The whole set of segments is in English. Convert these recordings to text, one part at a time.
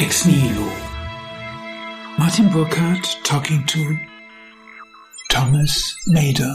Ex Nihilo. Martin Burkhardt talking to Thomas Maeder.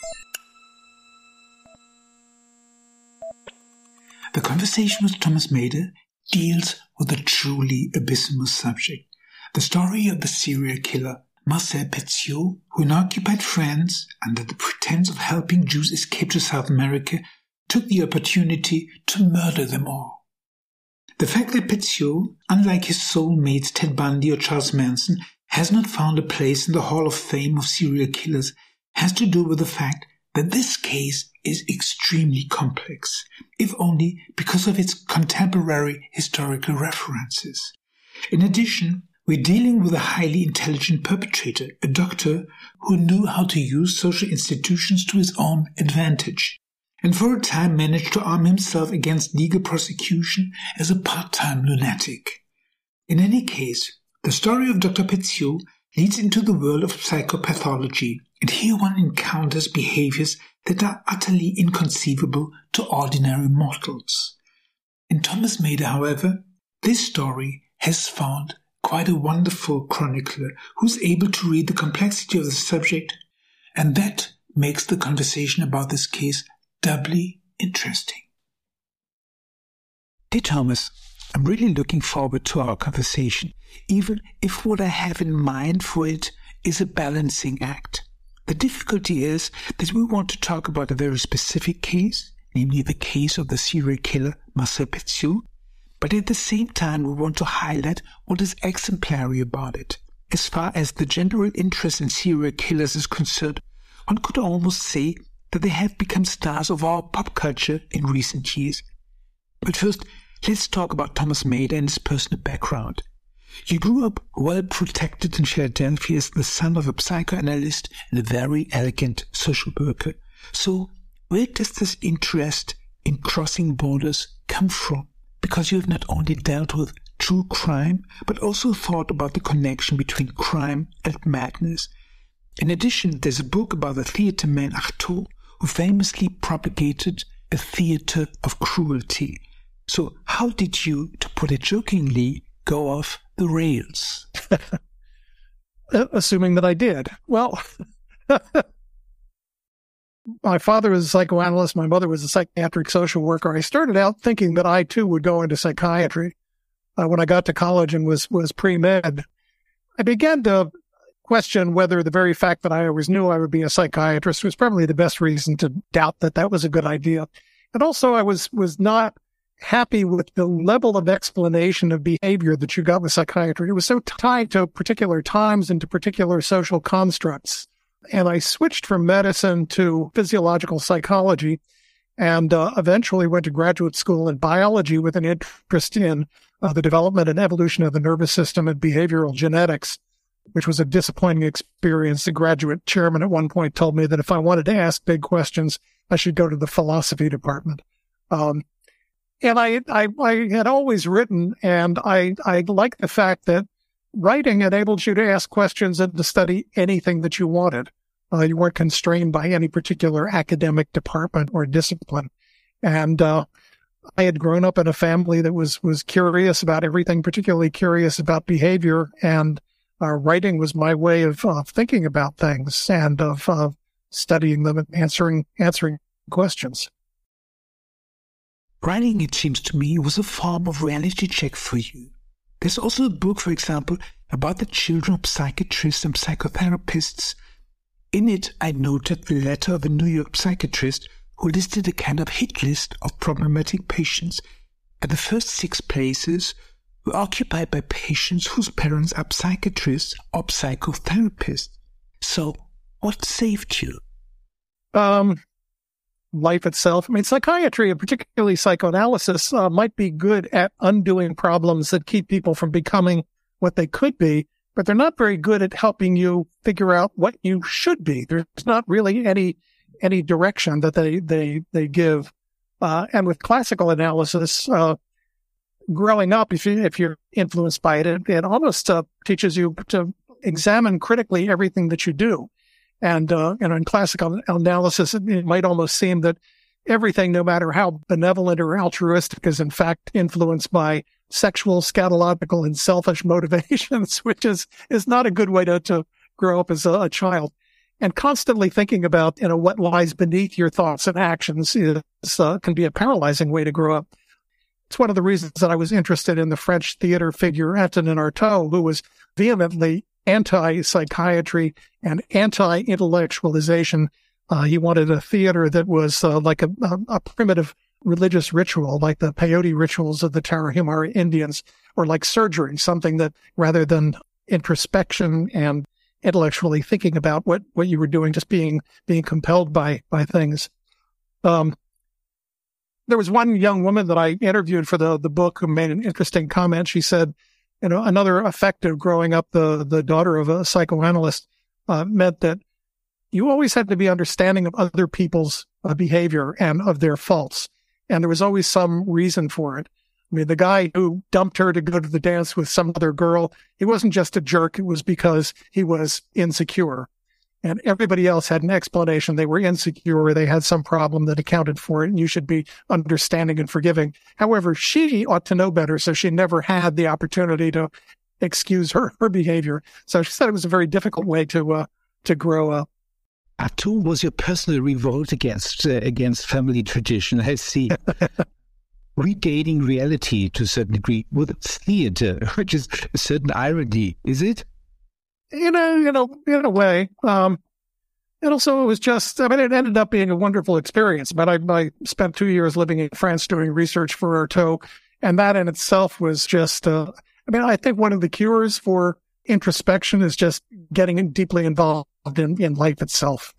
The conversation with Thomas Maeder deals with a truly abysmal subject, the story of the serial killer Marcel Petiot, who in occupied France, under the pretense of helping Jews escape to South America, took the opportunity to murder them all. The fact that Petiot, unlike his soulmates Ted Bundy or Charles Manson, has not found a place in the Hall of Fame of serial killers has to do with the fact that this case is extremely complex, if only because of its contemporary historical references. In addition, we're dealing with a highly intelligent perpetrator, a doctor who knew how to use social institutions to his own advantage, and for a time managed to arm himself against legal prosecution as a part-time lunatic. In any case, the story of Dr. Petiot leads into the world of psychopathology, and here one encounters behaviors that are utterly inconceivable to ordinary mortals. In Thomas Maeder, however, this story has found quite a wonderful chronicler who's able to read the complexity of the subject, and that makes the conversation about this case doubly interesting. Dear Thomas, I'm really looking forward to our conversation, even if what I have in mind for it is a balancing act. The difficulty is that we want to talk about a very specific case, namely the case of the serial killer Marcel Petiot, but at the same time we want to highlight what is exemplary about it. As far as the general interest in serial killers is concerned, one could almost say that they have become stars of our pop culture in recent years. But first, let's talk about Thomas Maeder and his personal background. You grew up well protected in Philadelphia as the son of a psychoanalyst and a very elegant social worker. So, where does this interest in crossing borders come from? Because you have not only dealt with true crime, but also thought about the connection between crime and madness. In addition, there's a book about the theater man Artaud, who famously propagated a theater of cruelty. So how did you, to put it jokingly, go off the rails? Assuming that I did. Well, my father was a psychoanalyst. My mother was a psychiatric social worker. I started out thinking that I, too, would go into psychiatry. When I got to college and was pre-med, I began to question whether the very fact that I always knew I would be a psychiatrist was probably the best reason to doubt that that was a good idea. And also I was not happy with the level of explanation of behavior that you got with psychiatry. It was so tied to particular times and to particular social constructs. And I switched from medicine to physiological psychology and eventually went to graduate school in biology with an interest in the development and evolution of the nervous system and behavioral genetics, which was a disappointing experience. The graduate chairman at one point told me that if I wanted to ask big questions, I should go to the philosophy department. And I had always written, and I like the fact that writing enabled you to ask questions and to study anything that you wanted. You weren't constrained by any particular academic department or discipline. And I had grown up in a family that was curious about everything, particularly curious about behavior, and writing was my way of thinking about things and of studying them and answering questions. Writing, it seems to me, was a form of reality check for you. There's also a book, for example, about the children of psychiatrists and psychotherapists. In it, I noted the letter of a New York psychiatrist who listed a kind of hit list of problematic patients, and the first 6 places were occupied by patients whose parents are psychiatrists or psychotherapists. So, what saved you? Life itself. I mean, psychiatry, and particularly psychoanalysis, might be good at undoing problems that keep people from becoming what they could be, but they're not very good at helping you figure out what you should be. There's not really any direction that they give. And with classical analysis, growing up, if you're influenced by it, it almost teaches you to examine critically everything that you do. And in classical analysis, it might almost seem that everything, no matter how benevolent or altruistic, is in fact influenced by sexual, scatological, and selfish motivations, which is not a good way to grow up as a child. And constantly thinking about, what lies beneath your thoughts and actions can be a paralyzing way to grow up. It's one of the reasons that I was interested in the French theater figure Antonin Artaud, who was vehemently anti-psychiatry and anti-intellectualization. He wanted a theater that was like a primitive religious ritual, like the peyote rituals of the Tarahumara Indians, or like surgery, something that rather than introspection and intellectually thinking about what you were doing, just being compelled by things. There was one young woman that I interviewed for the book who made an interesting comment. She said, another effect of growing up the daughter of a psychoanalyst meant that you always had to be understanding of other people's behavior and of their faults. And there was always some reason for it. I mean, the guy who dumped her to go to the dance with some other girl, he wasn't just a jerk. It was because he was insecure. And everybody else had an explanation. They were insecure, or they had some problem that accounted for it, and you should be understanding and forgiving. However, she ought to know better, so she never had the opportunity to excuse her behavior. So she said it was a very difficult way to grow up. Artaud was your personal revolt against family tradition. I see. Regaining reality to a certain degree with theater, which is a certain irony, is it? In a way. And also it was just, it ended up being a wonderful experience. But I spent 2 years living in France doing research for Artaud, and that in itself was just, I think one of the cures for introspection is just getting deeply involved in life itself.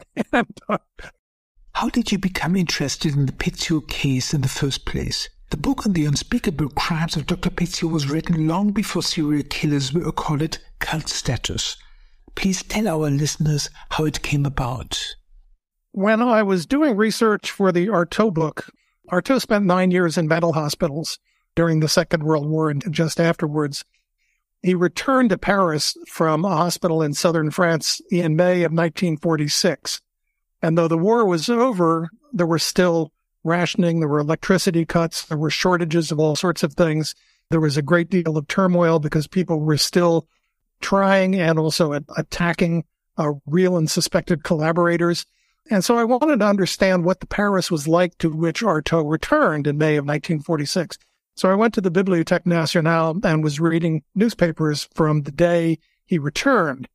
How did you become interested in the Pétiot case in the first place? The book on the unspeakable crimes of Dr. Pétiot was written long before serial killers were accorded cult status. Please tell our listeners how it came about. When I was doing research for the Artaud book, Artaud spent 9 years in mental hospitals during the Second World War and just afterwards. He returned to Paris from a hospital in southern France in May of 1946. And though the war was over, there were still rationing, there were electricity cuts, there were shortages of all sorts of things. There was a great deal of turmoil because people were still trying and also attacking real and suspected collaborators. And so I wanted to understand what the Paris was like to which Artaud returned in May of 1946. So I went to the Bibliothèque Nationale and was reading newspapers from the day he returned.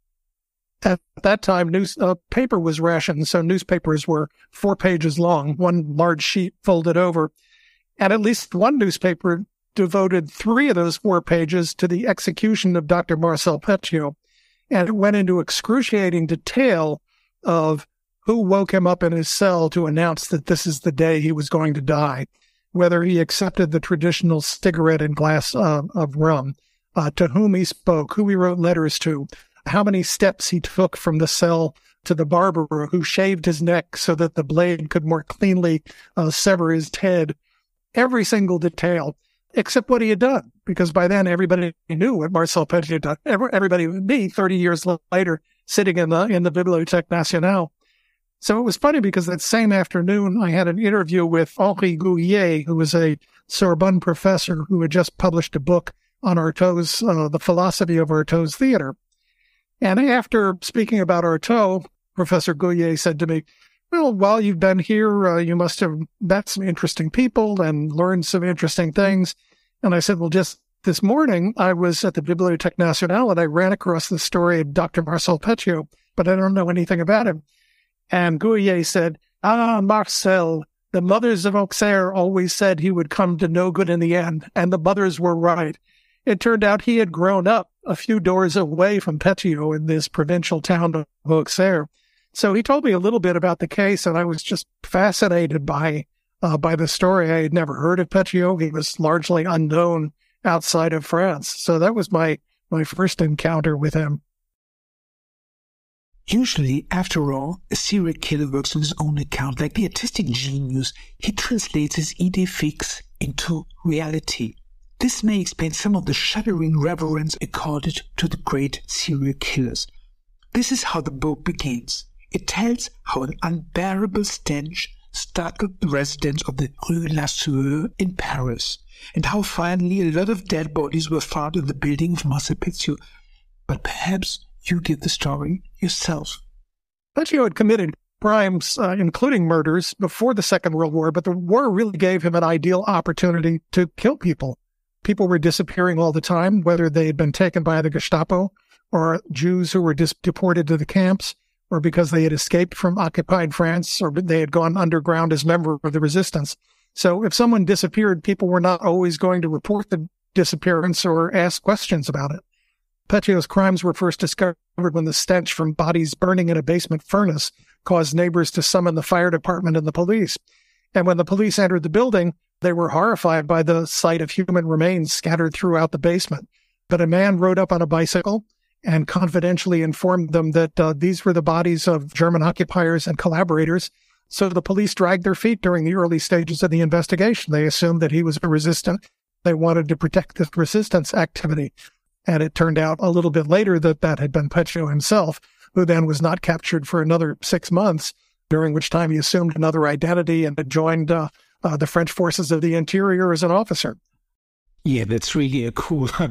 At that time, paper was rationed, so newspapers were 4 pages long, one large sheet folded over. And at least one newspaper devoted 3 of those 4 pages to the execution of Dr. Marcel Pétiot. And it went into excruciating detail of who woke him up in his cell to announce that this is the day he was going to die, whether he accepted the traditional cigarette and glass of rum, to whom he spoke, who he wrote letters to, how many steps he took from the cell to the barber who shaved his neck so that the blade could more cleanly sever his head. Every single detail, except what he had done, because by then everybody knew what Marcel Pétiot done. Everybody, me, 30 years later, sitting in the Bibliothèque Nationale. So it was funny because that same afternoon I had an interview with Henri Gouillet, who was a Sorbonne professor who had just published a book on Artaud's, the philosophy of Artaud's theater. And after speaking about Artaud, Professor Gouillet said to me, well, while you've been here, you must have met some interesting people and learned some interesting things. And I said, well, just this morning, I was at the Bibliothèque Nationale and I ran across the story of Dr. Marcel Pétiot, but I don't know anything about him. And Gouillet said, Marcel, the mothers of Auxerre always said he would come to no good in the end, and the mothers were right. It turned out he had grown up a few doors away from Pétiot in this provincial town of Auxerre. So he told me a little bit about the case, and I was just fascinated by the story. I had never heard of Pétiot. He was largely unknown outside of France. So that was my first encounter with him. Usually, after all, a serial killer works on his own account. Like the artistic genius, he translates his idée fixe into reality. This may explain some of the shuddering reverence accorded to the great serial killers. This is how the book begins. It tells how an unbearable stench startled the residents of the Rue La Sueur in Paris, and how finally a lot of dead bodies were found in the building of Marcel Petiot. But perhaps you give the story yourself. Petiot had committed crimes, including murders, before the Second World War, but the war really gave him an ideal opportunity to kill people. People were disappearing all the time, whether they had been taken by the Gestapo or Jews who were deported to the camps, or because they had escaped from occupied France, or they had gone underground as members of the resistance. So if someone disappeared, people were not always going to report the disappearance or ask questions about it. Petiot's crimes were first discovered when the stench from bodies burning in a basement furnace caused neighbors to summon the fire department and the police. And when the police entered the building, they were horrified by the sight of human remains scattered throughout the basement. But a man rode up on a bicycle and confidentially informed them that these were the bodies of German occupiers and collaborators. So the police dragged their feet during the early stages of the investigation. They assumed that he was a resistant. They wanted to protect this resistance activity. And it turned out a little bit later that that had been Petiot himself, who then was not captured for another 6 months, during which time he assumed another identity and had joined the French forces of the interior as an officer. Yeah, that's really a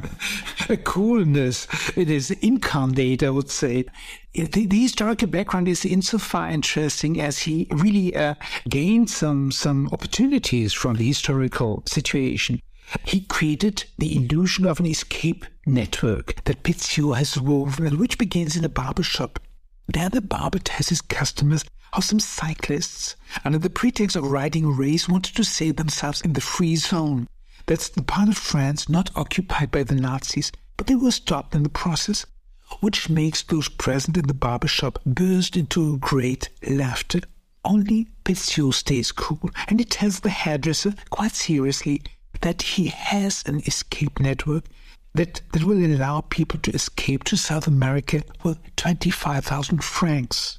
coolness. It is incarnate, I would say. The historical background is insofar interesting as he really gained some opportunities from the historical situation. He created the illusion of an escape network that Petiot has woven and which begins in a barber shop. There the barber tells his customers how some cyclists, under the pretext of riding a race, wanted to save themselves in the free zone. That's the part of France not occupied by the Nazis, but they were stopped in the process, which makes those present in the barber shop burst into great laughter. Only Petiot stays cool, and he tells the hairdresser quite seriously that he has an escape network that will allow people to escape to South America for 25,000 francs.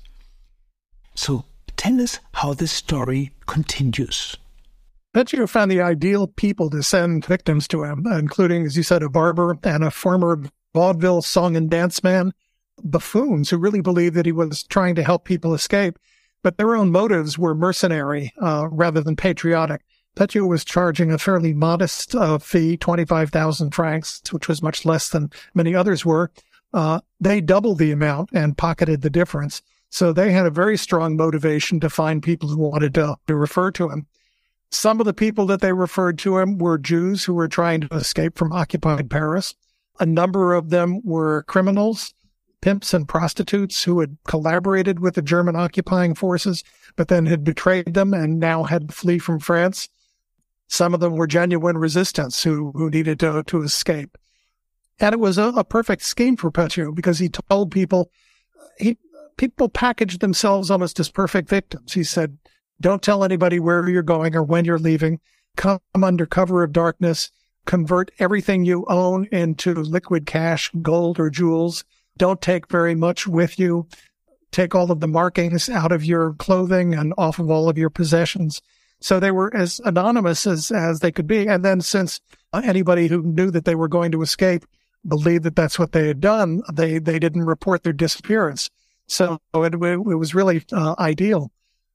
So tell us how this story continues. Petiot found the ideal people to send victims to him, including, as you said, a barber and a former vaudeville song and dance man, buffoons who really believed that he was trying to help people escape, but their own motives were mercenary rather than patriotic. Petiot was charging a fairly modest fee, 25,000 francs, which was much less than many others were. They doubled the amount and pocketed the difference. So they had a very strong motivation to find people who wanted to refer to him. Some of the people that they referred to him were Jews who were trying to escape from occupied Paris. A number of them were criminals, pimps and prostitutes who had collaborated with the German occupying forces, but then had betrayed them and now had to flee from France. Some of them were genuine resistants who needed to escape. And it was a perfect scheme for Petiot because he told people, people packaged themselves almost as perfect victims. He said, don't tell anybody where you're going or when you're leaving. Come under cover of darkness. Convert everything you own into liquid cash, gold or jewels. Don't take very much with you. Take all of the markings out of your clothing and off of all of your possessions. So they were as anonymous as they could be. And then since anybody who knew that they were going to escape believed that that's what they had done, they didn't report their disappearance. So it was really ideal.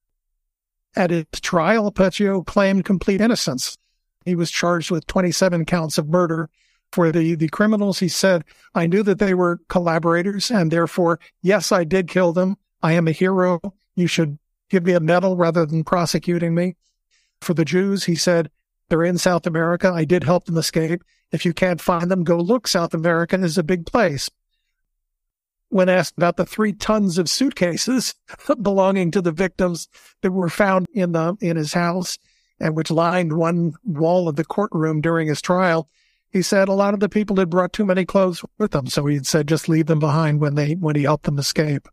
At his trial, Petiot claimed complete innocence. He was charged with 27 counts of murder. For the criminals, he said, I knew that they were collaborators, and therefore, yes, I did kill them. I am a hero. You should give me a medal rather than prosecuting me. For the Jews, he said, they're in South America. I did help them escape. If you can't find them, go look. South America is a big place. When asked about the 3 tons of suitcases belonging to the victims that were found in his house and which lined one wall of the courtroom during his trial, he said a lot of the people had brought too many clothes with them. So he said just leave them behind when he helped them escape.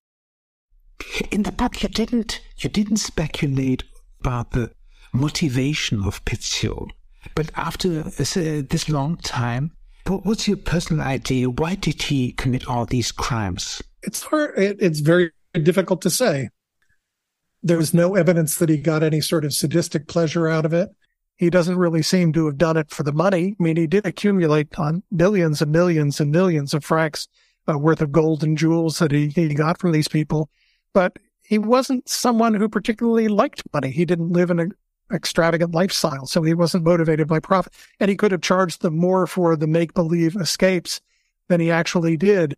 In the book, you didn't speculate about the motivation of Petiot, but after this long time, what's your personal idea? Why did he commit all these crimes? It's hard. It's very difficult to say. There was no evidence that he got any sort of sadistic pleasure out of it. He doesn't really seem to have done it for the money. I mean, he did accumulate on millions and millions and millions of francs worth of gold and jewels that he got from these people. But he wasn't someone who particularly liked money. He didn't live in an extravagant lifestyle, so he wasn't motivated by profit. And he could have charged them more for the make-believe escapes than he actually did.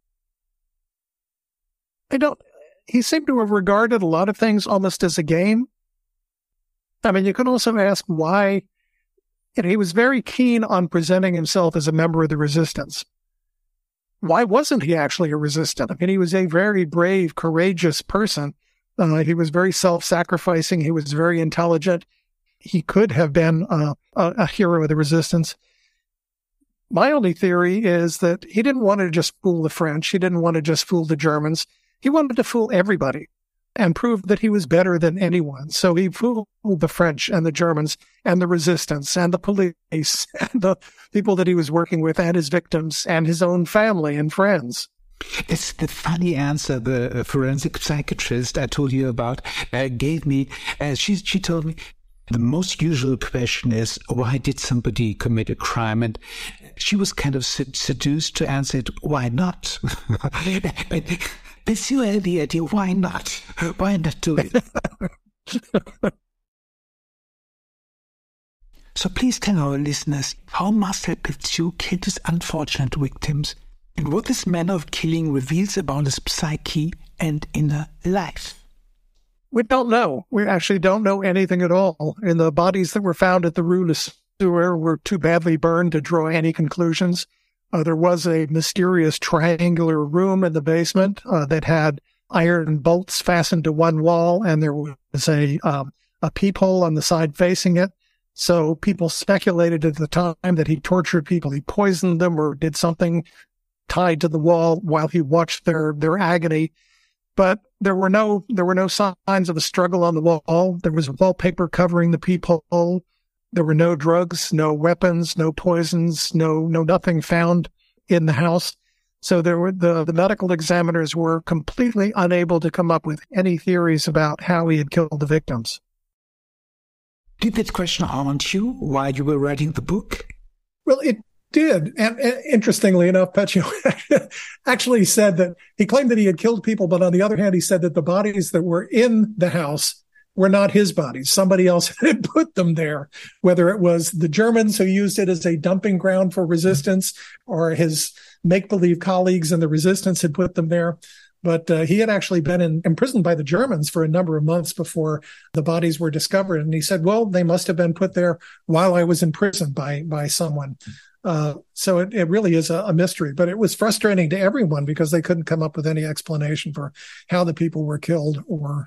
He seemed to have regarded a lot of things almost as a game. I mean, you could also ask why. He was very keen on presenting himself as a member of the resistance. Why wasn't he actually a resistant? I mean, he was a very brave, courageous person. He was very self-sacrificing. He was very intelligent. He could have been a hero of the resistance. My only theory is that he didn't want to just fool the French. He didn't want to just fool the Germans. He wanted to fool everybody and prove that he was better than anyone. So he fooled the French and the Germans and the resistance and the police and the people that he was working with and his victims and his own family and friends. It's the funny answer the forensic psychiatrist I told you about gave me. She told me the most usual question is, why did somebody commit a crime? And she was kind of seduced to answer it, why not? Pursue the idea, why not? Why not do it? So please tell our listeners how Marcel Petiot killed his unfortunate victims and what this manner of killing reveals about his psyche and inner life. We don't know. We actually don't know anything at all. And the bodies that were found at the Rue Le Sueur were too badly burned to draw any conclusions. There was a mysterious triangular room in the basement that had iron bolts fastened to one wall, and there was a peephole on the side facing it. So people speculated at the time that he tortured people. He poisoned them or did something tied to the wall while he watched their agony. But there were no signs of a struggle on the wall. There was wallpaper covering the peephole. There were no drugs, no weapons, no poisons, no nothing found in the house. So there were the medical examiners were completely unable to come up with any theories about how he had killed the victims. Did that question haunt you while you were writing the book? Well, it did. And interestingly enough, Petiot actually said that he claimed that he had killed people, but on the other hand, he said that the bodies that were in the house were not his bodies. Somebody else had put them there, whether it was the Germans who used it as a dumping ground for resistance or his make-believe colleagues in the resistance had put them there. But he had actually been imprisoned by the Germans for a number of months before the bodies were discovered. And he said, well, they must have been put there while I was in prison by someone. So it really is a mystery. But it was frustrating to everyone because they couldn't come up with any explanation for how the people were killed or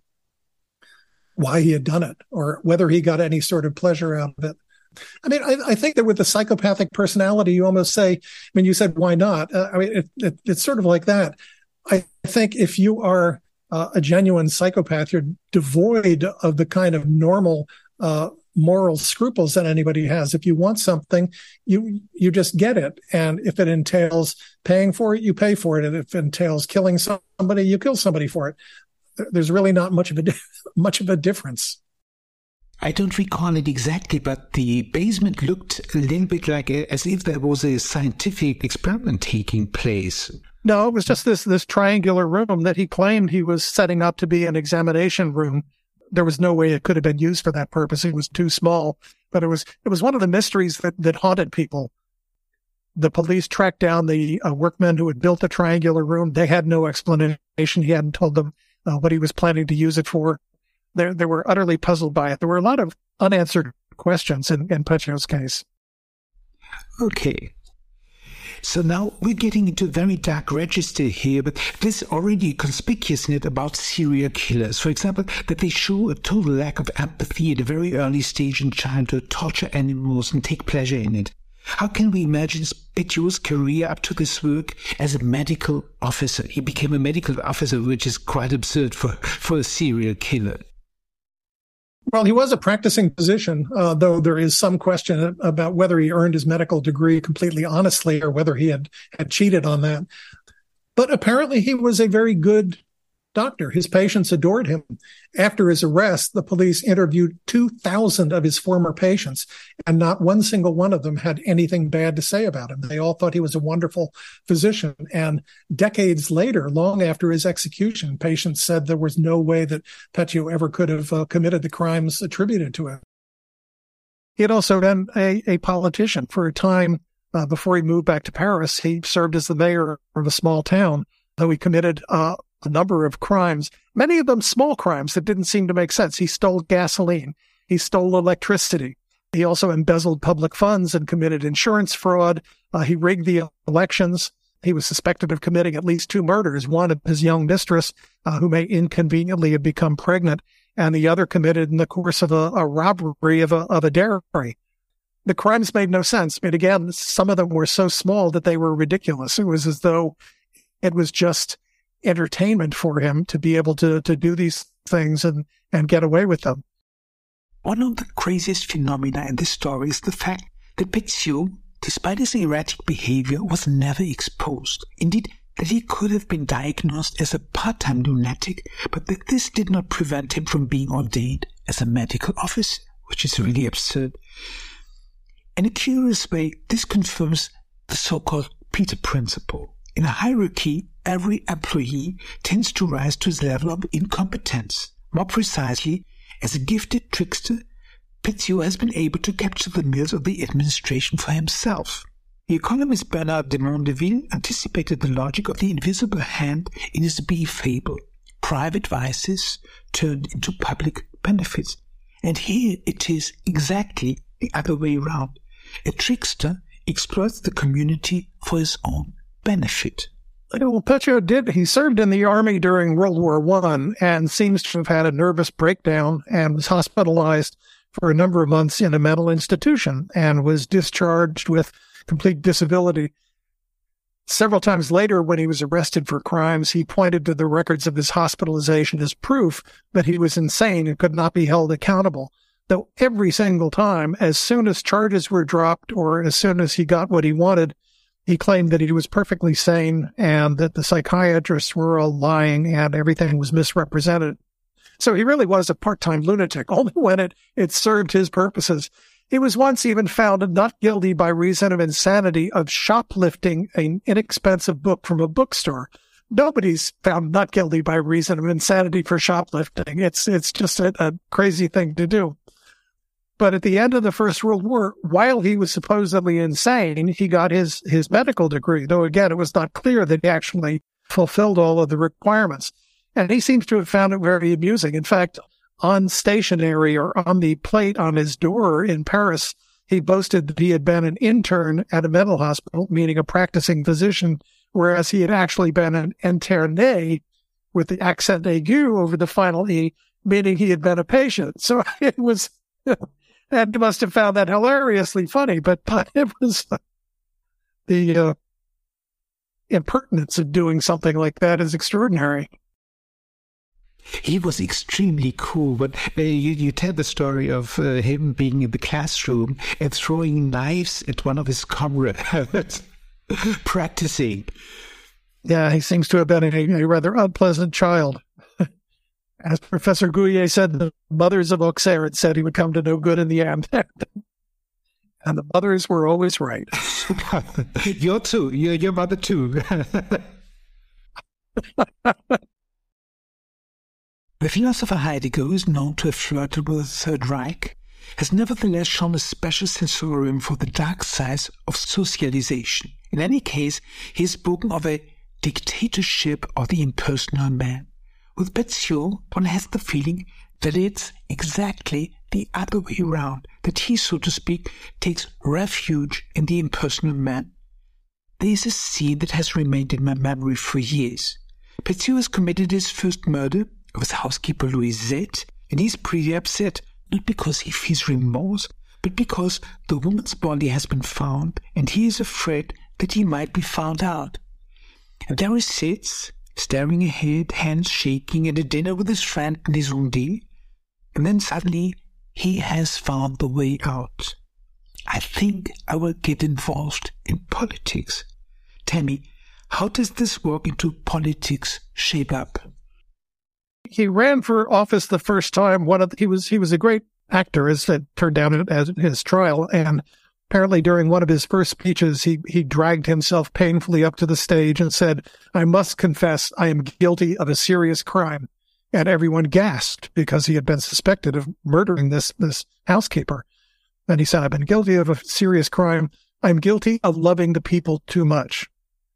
why he had done it or whether he got any sort of pleasure out of it. I mean, I think that with the psychopathic personality, you almost say, I mean, you said, why not? I mean, it's sort of like that. I think if you are a genuine psychopath, you're devoid of the kind of normal moral scruples that anybody has. If you want something, you just get it. And if it entails paying for it, you pay for it. And if it entails killing somebody, you kill somebody for it. There's really not much of a difference. I don't recall it exactly, but the basement looked a little bit like as if there was a scientific experiment taking place. No, it was just this triangular room that he claimed he was setting up to be an examination room. There was no way it could have been used for that purpose. It was too small. But it was one of the mysteries that haunted people. The police tracked down the workmen who had built the triangular room. They had no explanation. He hadn't told them what he was planning to use it for. They were utterly puzzled by it. There were a lot of unanswered questions in Petiot's case. Okay. So now we're getting into a very dark register here, but there's already conspicuous in it about serial killers. For example, that they show a total lack of empathy at a very early stage in childhood, torture animals and take pleasure in it. How can we imagine Petiot's career up to this work as a medical officer? He became a medical officer, which is quite absurd for a serial killer. Well, he was a practicing physician, though there is some question about whether he earned his medical degree completely honestly or whether he had cheated on that. But apparently he was a very good doctor. His patients adored him. After his arrest, the police interviewed 2,000 of his former patients, and not one single one of them had anything bad to say about him. They all thought he was a wonderful physician. And decades later, long after his execution, patients said there was no way that Petiot ever could have committed the crimes attributed to him. He had also been a politician for a time. Before he moved back to Paris, he served as the mayor of a small town, though he committed a number of crimes, many of them small crimes that didn't seem to make sense. He stole gasoline. He stole electricity. He also embezzled public funds and committed insurance fraud. He rigged the elections. He was suspected of committing at least 2 murders, one of his young mistress, who may inconveniently have become pregnant, and the other committed in the course of a robbery of a dairy. The crimes made no sense. But again, some of them were so small that they were ridiculous. It was as though it was just entertainment for him to be able to do these things and get away with them. One of the craziest phenomena in this story is the fact that Petiot, despite his erratic behavior, was never exposed. Indeed, that he could have been diagnosed as a part-time lunatic, but that this did not prevent him from being ordained as a medical officer, which is really absurd. In a curious way, this confirms the so-called Peter Principle. In a hierarchy, every employee tends to rise to the level of incompetence. More precisely, as a gifted trickster, Petiot has been able to capture the mills of the administration for himself. The economist Bernard de Mondeville anticipated the logic of the invisible hand in his bee fable. Private vices turned into public benefits. And here it is exactly the other way around. A trickster exploits the community for his own benefit. Well, Petiot he served in the army during World War I and seems to have had a nervous breakdown and was hospitalized for a number of months in a mental institution and was discharged with complete disability. Several times later, when he was arrested for crimes, he pointed to the records of his hospitalization as proof that he was insane and could not be held accountable. Though every single time, as soon as charges were dropped or as soon as he got what he wanted, he claimed that he was perfectly sane and that the psychiatrists were all lying and everything was misrepresented. So he really was a part-time lunatic, only when it served his purposes. He was once even found not guilty by reason of insanity of shoplifting an inexpensive book from a bookstore. Nobody's found not guilty by reason of insanity for shoplifting. It's just a crazy thing to do. But at the end of the First World War, while he was supposedly insane, he got his medical degree, though again, it was not clear that he actually fulfilled all of the requirements. And he seems to have found it very amusing. In fact, on stationery or on the plate on his door in Paris, he boasted that he had been an intern at a mental hospital, meaning a practicing physician, whereas he had actually been an interné with the accent aigu over the final E, meaning he had been a patient. So it was... And must have found that hilariously funny, but it was the impertinence of doing something like that is extraordinary. He was extremely cool, but you tell the story of him being in the classroom and throwing knives at one of his comrades, practicing. Yeah, he seems to have been a rather unpleasant child. As Professor Gouillet said, the mothers of Auxerre had said he would come to no good in the end. And the mothers were always right. Your mother too. The philosopher Heidegger, who is known to have flirted with the Third Reich, has nevertheless shown a special sensorium for the dark sides of socialization. In any case, he has spoken of a dictatorship of the impersonal man. With Petiot, one has the feeling that it's exactly the other way around, that he, so to speak, takes refuge in the impersonal man. There is a scene that has remained in my memory for years. Petiot has committed his first murder of his housekeeper Louisette, and he's pretty upset, not because he feels remorse, but because the woman's body has been found, and he is afraid that he might be found out. And there he sits, staring ahead, hands shaking, at a dinner with his friend Nesondé, and then suddenly he has found the way out. I think I will get involved in politics. Tell me, how does this work into politics shape up? he ran for office the first time. He was a great actor, as it turned out at his trial. And apparently during one of his first speeches, he dragged himself painfully up to the stage and said, "I must confess I am guilty of a serious crime." And everyone gasped because he had been suspected of murdering this housekeeper. And he said, "I've been guilty of a serious crime. I'm guilty of loving the people too much."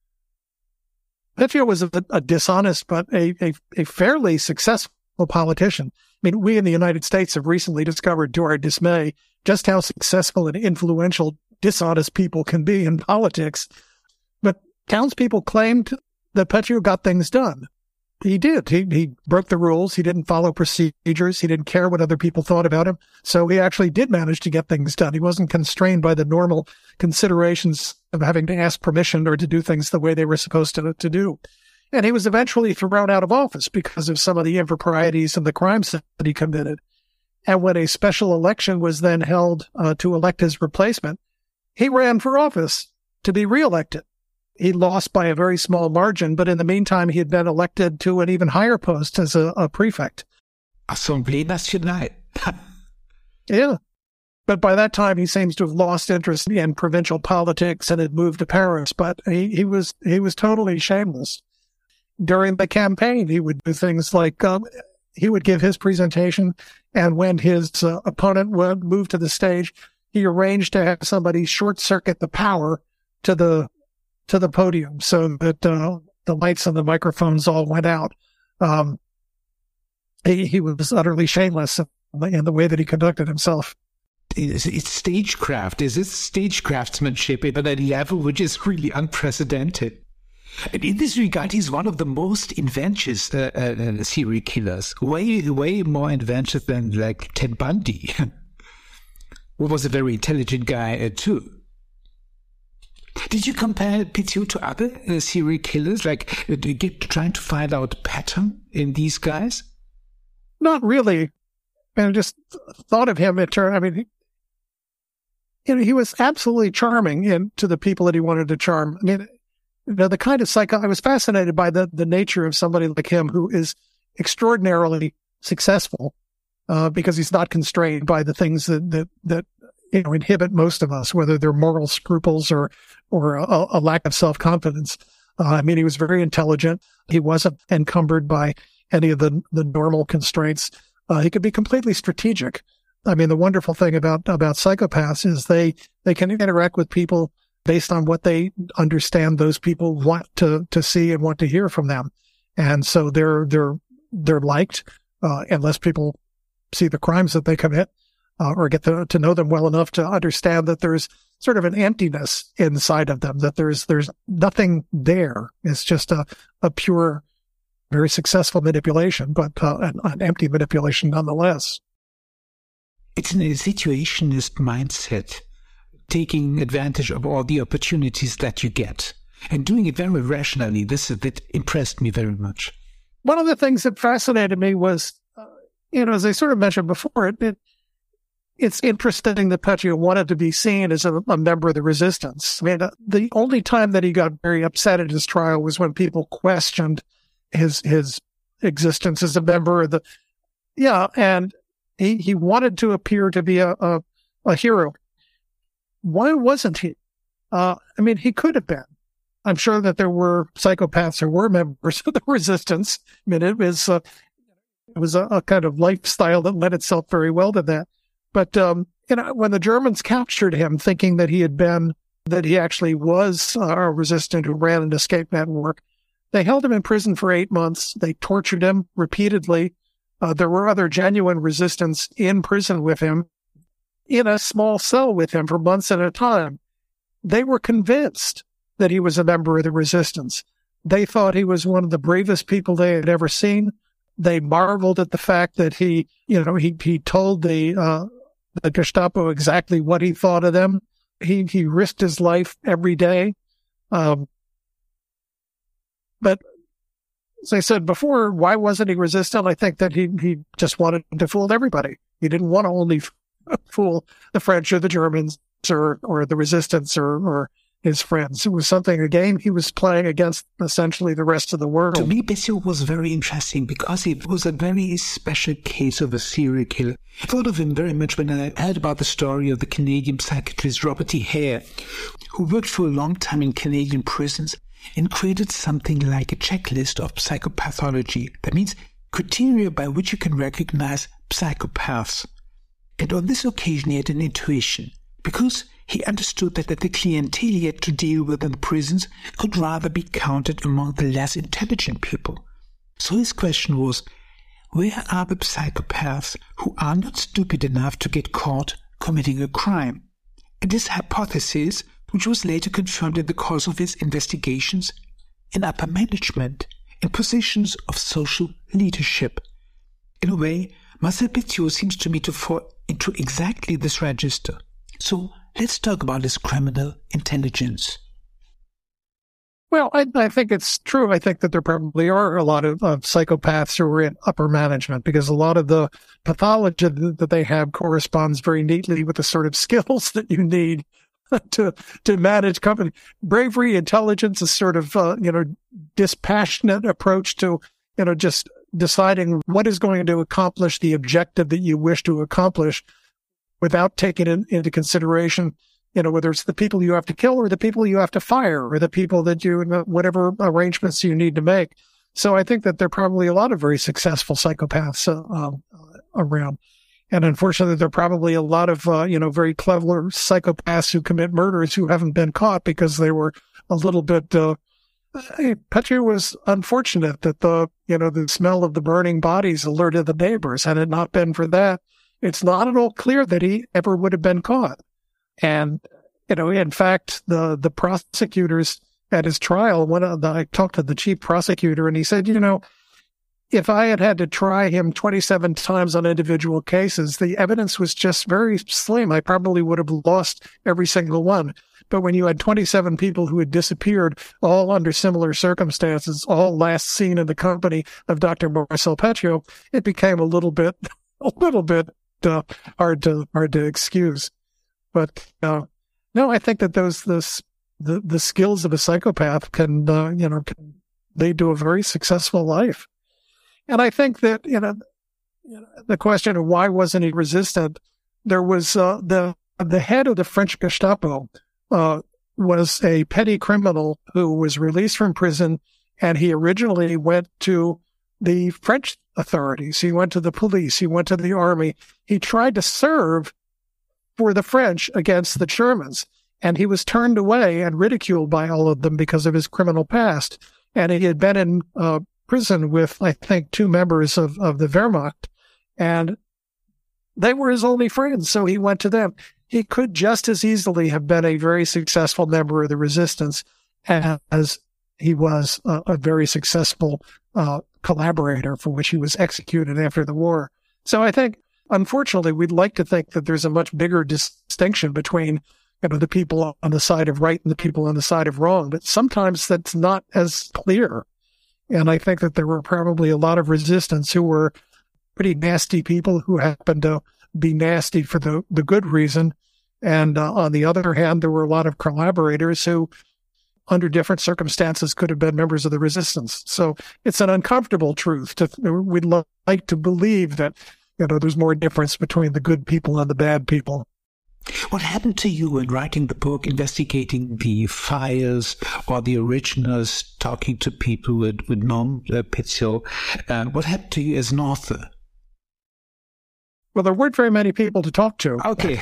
Petio was a dishonest but a fairly successful politician. I mean, we in the United States have recently discovered, to our dismay, just how successful and influential dishonest people can be in politics. But townspeople claimed that Petio got things done. He did. He broke the rules. He didn't follow procedures. He didn't care what other people thought about him. So he actually did manage to get things done. He wasn't constrained by the normal considerations of having to ask permission or to do things the way they were supposed to do. And he was eventually thrown out of office because of some of the improprieties and the crimes that he committed. And when a special election was then held to elect his replacement, he ran for office to be reelected. He lost by a very small margin, but in the meantime, he had been elected to an even higher post as a prefect. Assemblée Nationale. Yeah. But by that time, he seems to have lost interest in provincial politics and had moved to Paris. But he was totally shameless. During the campaign, he would do things like he would give his presentation, and when his opponent would move to the stage, he arranged to have somebody short-circuit the power to the podium so that the lights and the microphones all went out. He was utterly shameless in the way that he conducted himself. It's stagecraft. Is this stagecraftsmanship at a level which is really unprecedented? And in this regard, he's one of the most inventive serial killers. Way more inventive than like Ted Bundy, who was a very intelligent guy too. Did you compare Petio to other serial killers, like trying to find out a pattern in these guys? Not really. I just thought of him in turn. I mean, he was absolutely charming to the people that he wanted to charm. I mean, the kind of I was fascinated by the nature of somebody like him who is extraordinarily successful because he's not constrained by the things that inhibit most of us, whether they're moral scruples or a lack of self-confidence. I mean, he was very intelligent. He wasn't encumbered by any of the normal constraints. He could be completely strategic. I mean, the wonderful thing about psychopaths is they can interact with people based on what they understand those people want to see and want to hear from them. And so they're liked, unless people see the crimes that they commit, or get to know them well enough to understand that there's sort of an emptiness inside of them, that there's nothing there. It's just a pure, very successful manipulation, but an empty manipulation nonetheless. It's a situationist mindset, taking advantage of all the opportunities that you get and doing it very rationally. That impressed me very much. One of the things that fascinated me was, as I sort of mentioned before, it's interesting that Petio wanted to be seen as a member of the resistance. I mean, the only time that he got very upset at his trial was when people questioned his existence as a member of and he wanted to appear to be a hero. Why wasn't he? I mean, he could have been. I'm sure that there were psychopaths who were members of the resistance. I mean, it was a kind of lifestyle that led itself very well to that. But, when the Germans captured him thinking that he actually was a resistant who ran an escape network, they held him in prison for 8 months. They tortured him repeatedly. There were other genuine resistants in prison with him, in a small cell with him for months at a time. They were convinced that he was a member of the resistance. They thought he was one of the bravest people they had ever seen. They marveled at the fact that he told the Gestapo exactly what he thought of them. He risked his life every day. But as I said before, why wasn't he resistant? I think that he just wanted to fool everybody. He didn't want to only fool the French or the Germans or the resistance or his friends. It was something, a game he was playing against essentially the rest of the world. To me, Bessiot was very interesting because it was a very special case of a serial killer. I thought of him very much when I heard about the story of the Canadian psychiatrist Robert E. Hare, who worked for a long time in Canadian prisons and created something like a checklist of psychopathology. That means criteria by which you can recognize psychopaths. And on this occasion, he had an intuition, because he understood that the clientele he had to deal with in the prisons could rather be counted among the less intelligent people. So his question was, where are the psychopaths who are not stupid enough to get caught committing a crime? And this hypothesis, which was later confirmed in the course of his investigations, in upper management, in positions of social leadership. In a way, Marcel Petiot seems to me to fall into exactly this register. So let's talk about his criminal intelligence. Well, I think it's true. I think that there probably are a lot of psychopaths who are in upper management, because a lot of the pathology that they have corresponds very neatly with the sort of skills that you need to manage company. Bravery, intelligence, a sort of, dispassionate approach to, just deciding what is going to accomplish the objective that you wish to accomplish without taking into consideration, whether it's the people you have to kill or the people you have to fire or the people that whatever arrangements you need to make. So I think that there are probably a lot of very successful psychopaths around. And unfortunately, there are probably a lot of, very clever psychopaths who commit murders who haven't been caught because they were a little bit, Petiot was unfortunate that the smell of the burning bodies alerted the neighbors. Had it not been for that, it's not at all clear that he ever would have been caught. And, in fact, the prosecutors at his trial, I talked to the chief prosecutor and he said, if I had to try him 27 times on individual cases, the evidence was just very slim. I probably would have lost every single one. But when you had 27 people who had disappeared, all under similar circumstances, all last seen in the company of Dr. Marcel Petiot, it became a little bit hard to excuse. But no, I think that the skills of a psychopath can lead to a very successful life. And I think that, the question of why wasn't he resistant, there was, the head of the French Gestapo, was a petty criminal who was released from prison, and he originally went to the French authorities. He went to the police. He went to the army. He tried to serve for the French against the Germans, and he was turned away and ridiculed by all of them because of his criminal past. And he had been in, prison with, I think, 2 members of the Wehrmacht, and they were his only friends, so he went to them. He could just as easily have been a very successful member of the resistance as he was a very successful collaborator for which he was executed after the war. So I think, unfortunately, we'd like to think that there's a much bigger distinction between the people on the side of right and the people on the side of wrong, but sometimes that's not as clear. And I think that there were probably a lot of resistance who were pretty nasty people who happened to be nasty for the good reason. And on the other hand, there were a lot of collaborators who, under different circumstances, could have been members of the resistance. So it's an uncomfortable truth. We'd like to believe that, there's more difference between the good people and the bad people. What happened to you in writing the book, investigating the files or the originals, talking to people who had known Petiot? What happened to you as an author? Well, there weren't very many people to talk to. Okay.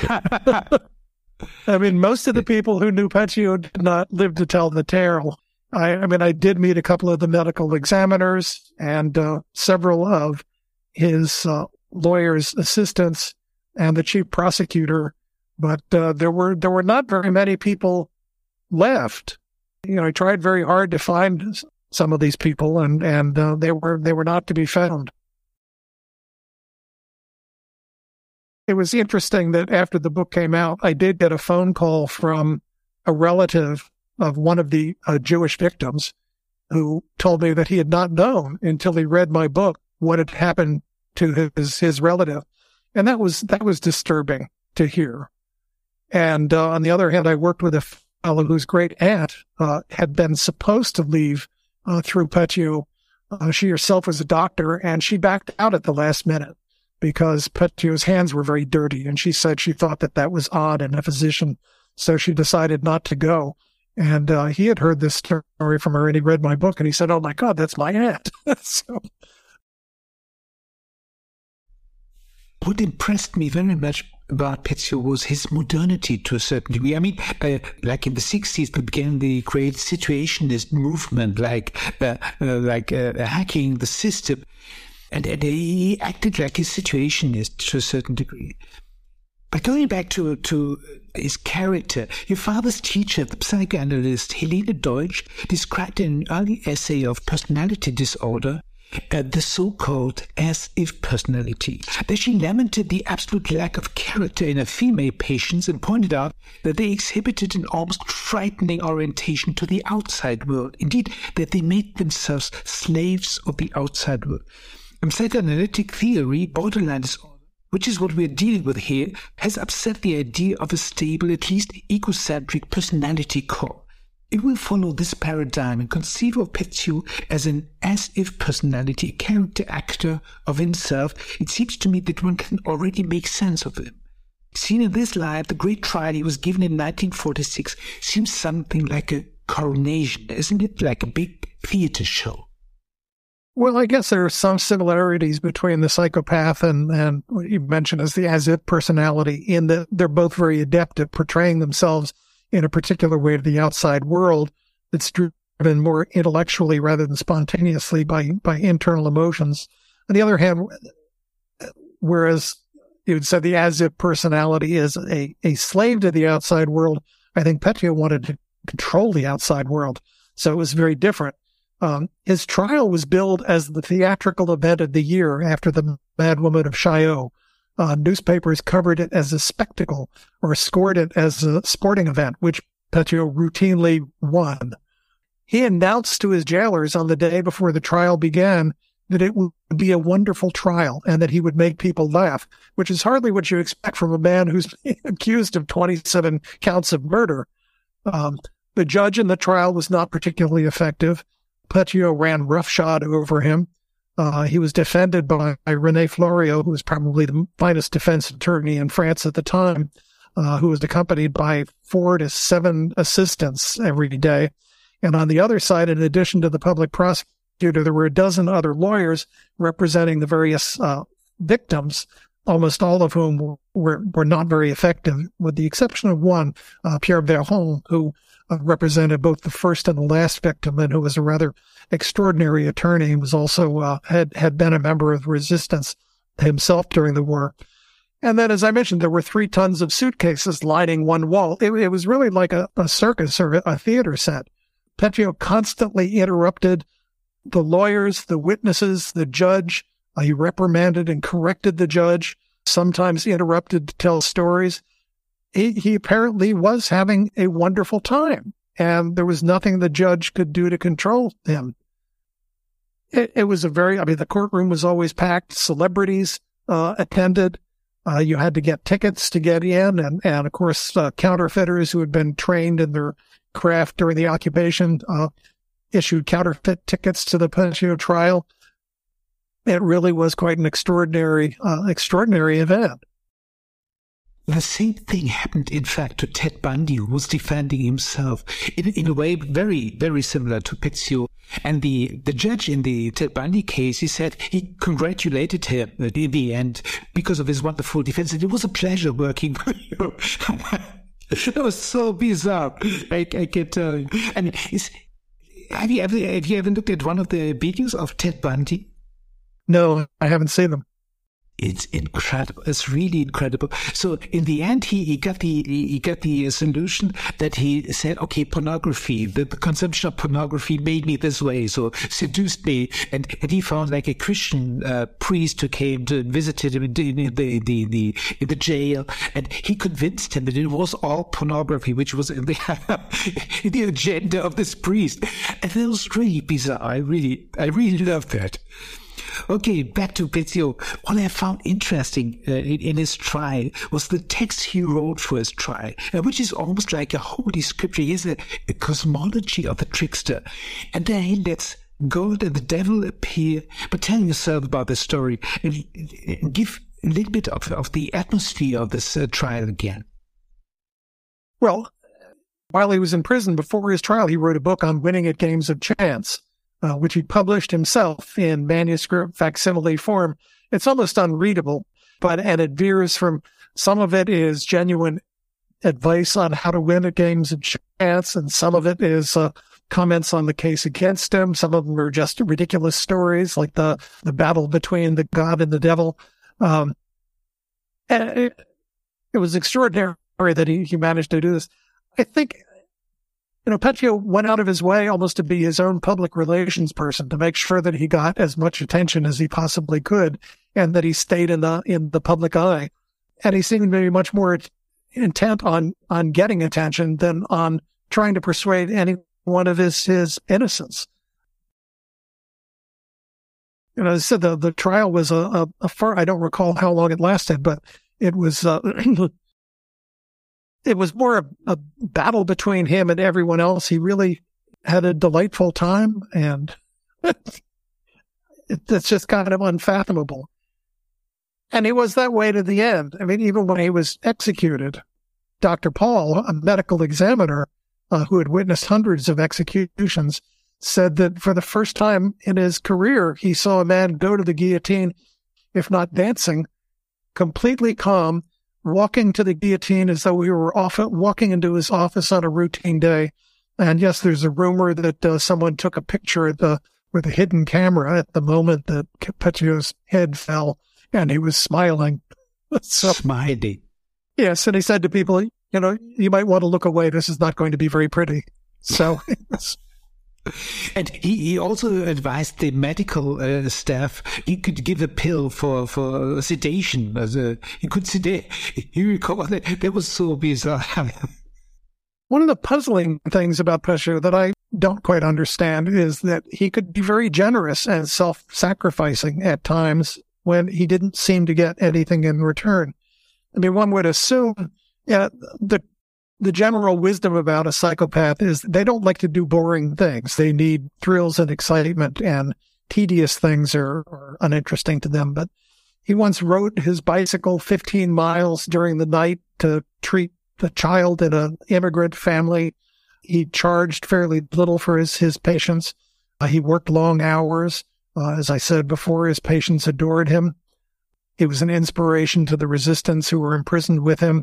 I mean, most of the people who knew Petiot did not live to tell the tale. I did meet a couple of the medical examiners and several of his lawyer's assistants and the chief prosecutor. But there were not very many people left. I tried very hard to find some of these people, and they were not to be found. It was interesting that after the book came out, I did get a phone call from a relative of one of the Jewish victims, who told me that he had not known until he read my book what had happened to his relative, and that was disturbing to hear. And on the other hand, I worked with a whose great aunt had been supposed to leave through Petiot. She herself was a doctor, and she backed out at the last minute because Petiot's hands were very dirty, and she said she thought that was odd in a physician, so she decided not to go. And he had heard this story from her, and he read my book, and he said, "Oh my God, that's my aunt." So, what impressed me very much about Petiot was his modernity to a certain degree. I mean, like in the 60s, began the great situationist movement, like hacking the system. And he acted like a situationist to a certain degree. But going back to his character, your father's teacher, the psychoanalyst Helene Deutsch, described in an early essay of personality disorder the so-called as-if personality. There she lamented the absolute lack of character in her female patients and pointed out that they exhibited an almost frightening orientation to the outside world. Indeed, that they made themselves slaves of the outside world. In psychoanalytic theory, borderline disorder, which is what we're dealing with here, has upset the idea of a stable, at least egocentric personality core. It will follow this paradigm and conceive of Petiot as an as-if personality, a character actor of himself. It seems to me that one can already make sense of him. Seen in this light, the great trial he was given in 1946 seems something like a coronation, isn't it? Like a big theater show. Well, I guess there are some similarities between the psychopath and what you mentioned as the as-if personality, in that they're both very adept at portraying themselves in a particular way to the outside world that's driven more intellectually rather than spontaneously by internal emotions. On the other hand, whereas you would say the as-if personality is a slave to the outside world, I think Petiot wanted to control the outside world. So it was very different. His trial was billed as the theatrical event of the year after the Mad Woman of Chaillot. Newspapers covered it as a spectacle or scored it as a sporting event, which Petiot routinely won. He announced to his jailers on the day before the trial began that it would be a wonderful trial and that he would make people laugh, which is hardly what you expect from a man who's accused of 27 counts of murder. The judge in the trial was not particularly effective. Petiot ran roughshod over him. He was defended by René Fleuriot, who was probably the finest defense attorney in France at the time, who was accompanied by 4 to 7 assistants every day. And on the other side, in addition to the public prosecutor, there were a dozen other lawyers representing the various victims, almost all of whom were not very effective, with the exception of one, Pierre Verron, who represented both the first and the last victim, and who was a rather extraordinary attorney. He was also had been a member of the resistance himself during the war. And then, as I mentioned, there were 3 tons of suitcases lining one wall. It was really like a circus or a theater set. Petiot constantly interrupted the lawyers, the witnesses, the judge. He reprimanded and corrected the judge, sometimes interrupted to tell stories. He apparently was having a wonderful time, and there was nothing the judge could do to control him. It was the courtroom was always packed. Celebrities attended. You had to get tickets to get in, and of course, counterfeiters who had been trained in their craft during the occupation issued counterfeit tickets to the Petiot trial. It really was quite an extraordinary event. The same thing happened, in fact, to Ted Bundy, who was defending himself in a way very, very similar to Petiot. And the judge in the Ted Bundy case, he said he congratulated him in the end because of his wonderful defense. And it was a pleasure working for you. It was so bizarre, I can tell you. And have you ever looked at one of the videos of Ted Bundy? No, I haven't seen them. It's incredible. It's really incredible. So in the end, he got the solution that he said, okay, pornography, the consumption of pornography made me this way, so seduced me. And he found like a Christian priest who came to visit him in the jail, and he convinced him that it was all pornography, which was in the agenda of this priest. And that was really bizarre. I really loved that. Okay, back to Petio. What I found interesting in his trial was the text he wrote for his trial, which is almost like a holy scripture. He has a cosmology of the trickster. And then he lets God and the devil appear. But tell yourself about the story and give a little bit of the atmosphere of this trial again. Well, while he was in prison before his trial, he wrote a book on winning at games of chance, which he published himself in manuscript facsimile form. It's almost unreadable, and it veers from, some of it is genuine advice on how to win at games of chance, and some of it is comments on the case against him. Some of them are just ridiculous stories, like the battle between the God and the devil. And it was extraordinary that he managed to do this. I think, Petio went out of his way almost to be his own public relations person, to make sure that he got as much attention as he possibly could, and that he stayed in the public eye. And he seemed to be much more intent on getting attention than on trying to persuade anyone of his innocence. As I said, the trial was a far, I don't recall how long it lasted, but it was it was more a battle between him and everyone else. He really had a delightful time, and it's just kind of unfathomable. And he was that way to the end. I mean, even when he was executed, Dr. Paul, a medical examiner who had witnessed hundreds of executions, said that for the first time in his career, he saw a man go to the guillotine, if not dancing, completely calm, walking to the guillotine as though he were walking into his office on a routine day. And yes, there's a rumor that someone took a picture with a hidden camera at the moment that Petio's head fell, and he was smiling. Smiling. Yes, and he said to people, you might want to look away. This is not going to be very pretty. So... And he also advised the medical staff he could give a pill for sedation. He could sedate. You recall that was so bizarre. One of the puzzling things about Petio that I don't quite understand is that he could be very generous and self-sacrificing at times when he didn't seem to get anything in return. I mean, one would assume the general wisdom about a psychopath is they don't like to do boring things. They need thrills and excitement, and tedious things are uninteresting to them. But he once rode his bicycle 15 miles during the night to treat the child in an immigrant family. He charged fairly little for his patients. He worked long hours. As I said before, his patients adored him. He was an inspiration to the resistance who were imprisoned with him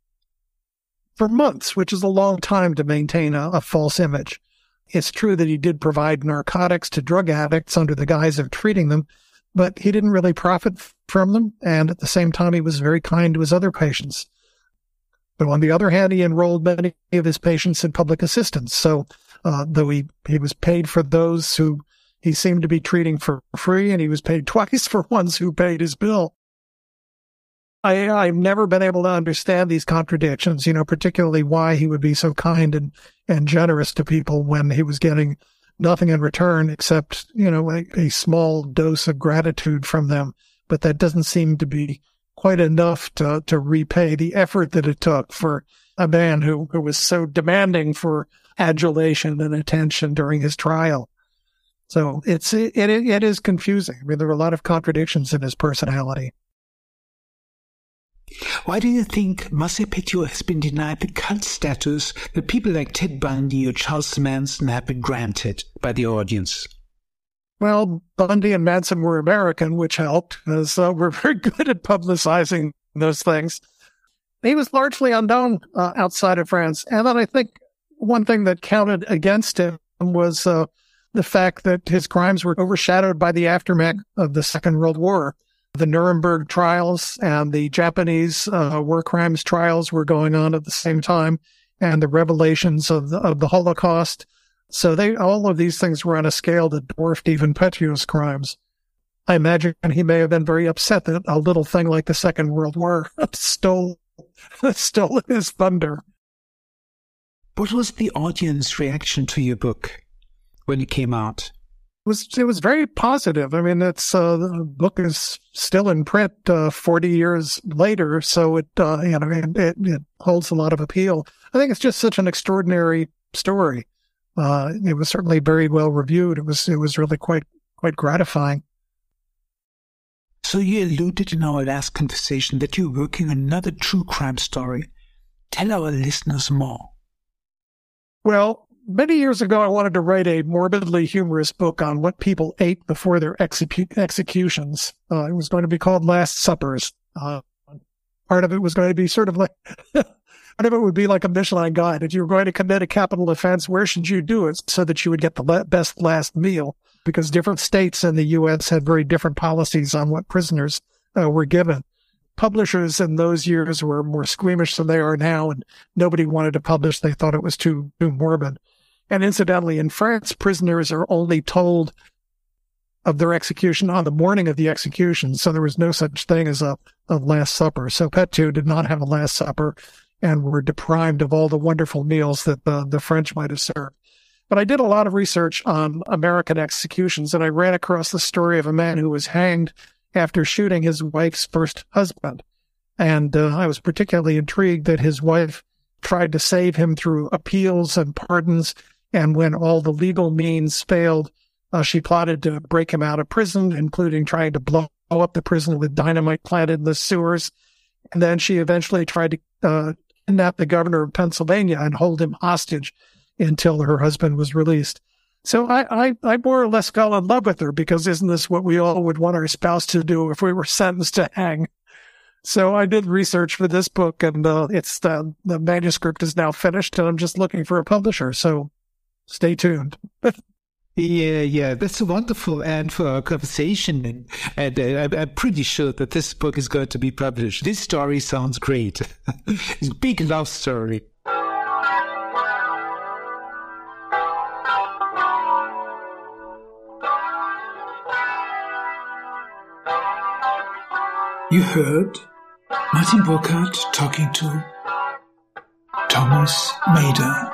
for months, which is a long time to maintain a false image. It's true that he did provide narcotics to drug addicts under the guise of treating them, but he didn't really profit from them, and at the same time he was very kind to his other patients. But on the other hand, he enrolled many of his patients in public assistance, so though he was paid for those who he seemed to be treating for free, and he was paid twice for ones who paid his bill. I've never been able to understand these contradictions, particularly why he would be so kind and generous to people when he was getting nothing in return except, a small dose of gratitude from them. But that doesn't seem to be quite enough to repay the effort that it took for a man who was so demanding for adulation and attention during his trial. So it is confusing. I mean, there are a lot of contradictions in his personality. Why do you think Marcel Petio has been denied the cult status that people like Ted Bundy or Charles Manson have been granted by the audience? Well, Bundy and Manson were American, which helped, as we're very good at publicizing those things. He was largely unknown outside of France. And then I think one thing that counted against him was the fact that his crimes were overshadowed by the aftermath of the Second World War. The Nuremberg trials and the Japanese war crimes trials were going on at the same time, and the revelations of the Holocaust. So all of these things were on a scale that dwarfed even Petio's crimes. I imagine he may have been very upset that a little thing like the Second World War stole his thunder. What was the audience reaction to your book when it came out? It was very positive. I mean, the book is still in print 40 years later, so it holds a lot of appeal. I think it's just such an extraordinary story. It was certainly very well reviewed. It was really quite gratifying. So you alluded in our last conversation that you're working on another true crime story. Tell our listeners more. Well, many years ago, I wanted to write a morbidly humorous book on what people ate before their executions. It was going to be called Last Suppers. Part of it was going to be sort of like, part of it would be like a Michelin guide. If you were going to commit a capital offense, where should you do it so that you would get the best last meal? Because different states in the U.S. had very different policies on what prisoners were given. Publishers in those years were more squeamish than they are now, and nobody wanted to publish. They thought it was too morbid. And incidentally, in France, prisoners are only told of their execution on the morning of the execution, so there was no such thing as a Last Supper. So Petu did not have a Last Supper and were deprived of all the wonderful meals that the French might have served. But I did a lot of research on American executions, and I ran across the story of a man who was hanged after shooting his wife's first husband. And I was particularly intrigued that his wife tried to save him through appeals and pardons, and when all the legal means failed, she plotted to break him out of prison, including trying to blow up the prison with dynamite planted in the sewers. And then she eventually tried to kidnap the governor of Pennsylvania and hold him hostage until her husband was released. So I more or less fell in love with her, because isn't this what we all would want our spouse to do if we were sentenced to hang? So I did research for this book, and the manuscript is now finished, and I'm just looking for a publisher. So stay tuned. Yeah, that's wonderful. And for our conversation, and I'm pretty sure that this book is going to be published. This story sounds great. It's a big love story. You heard Martin Burkhardt talking to Thomas Mader.